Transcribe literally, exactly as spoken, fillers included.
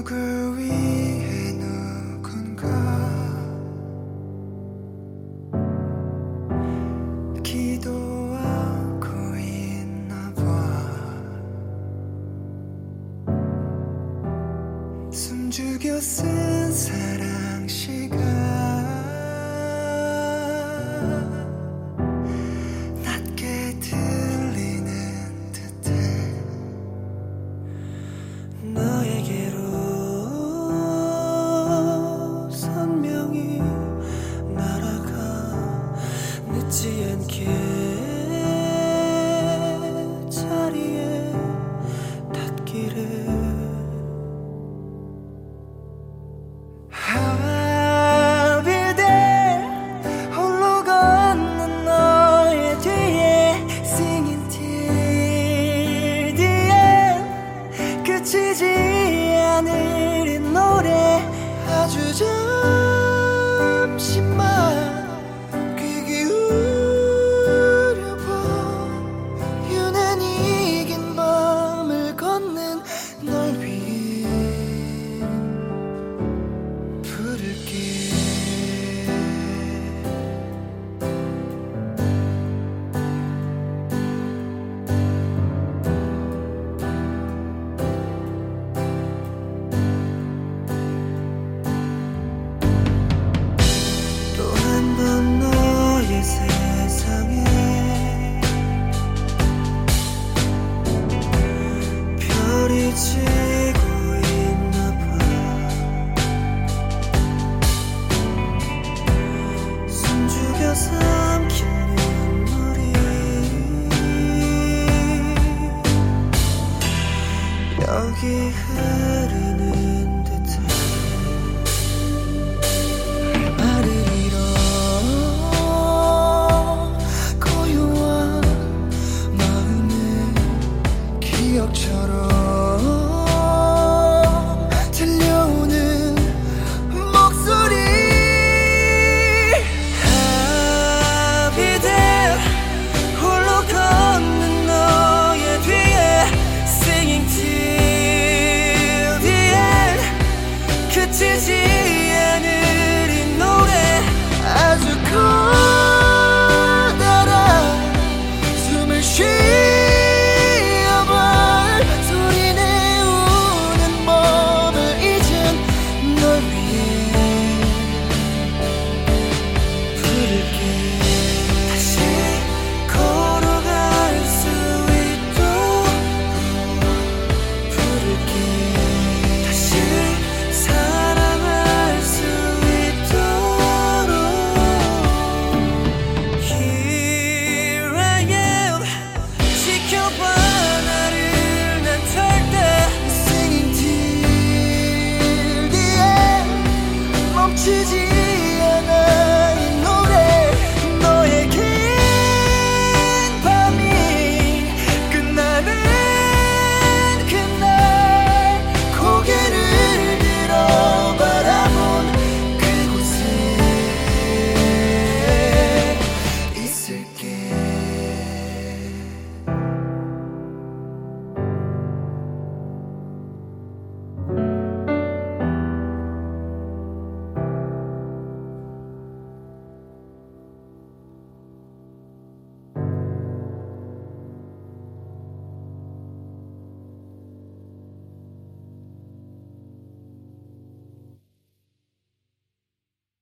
누구 위해 누군가 기도하고 있나 봐. 숨죽여 쓴 사랑 시간 낮게 들리는 듯해. 너에게로 선명히 날아가 늦지 않게 자리에 닿기를. I'll be there 홀로 걷는 너의 뒤에 Singing till the end 그치지 않을 이 노래 아주 잠시만 귀 기울여봐. 유난히 긴 밤을 걷는 널 위해 부를게. 또 한 번 너의 세상에 별이 지고 있나 봐. 숨죽여 삼킨 눈물이 여기 흐르는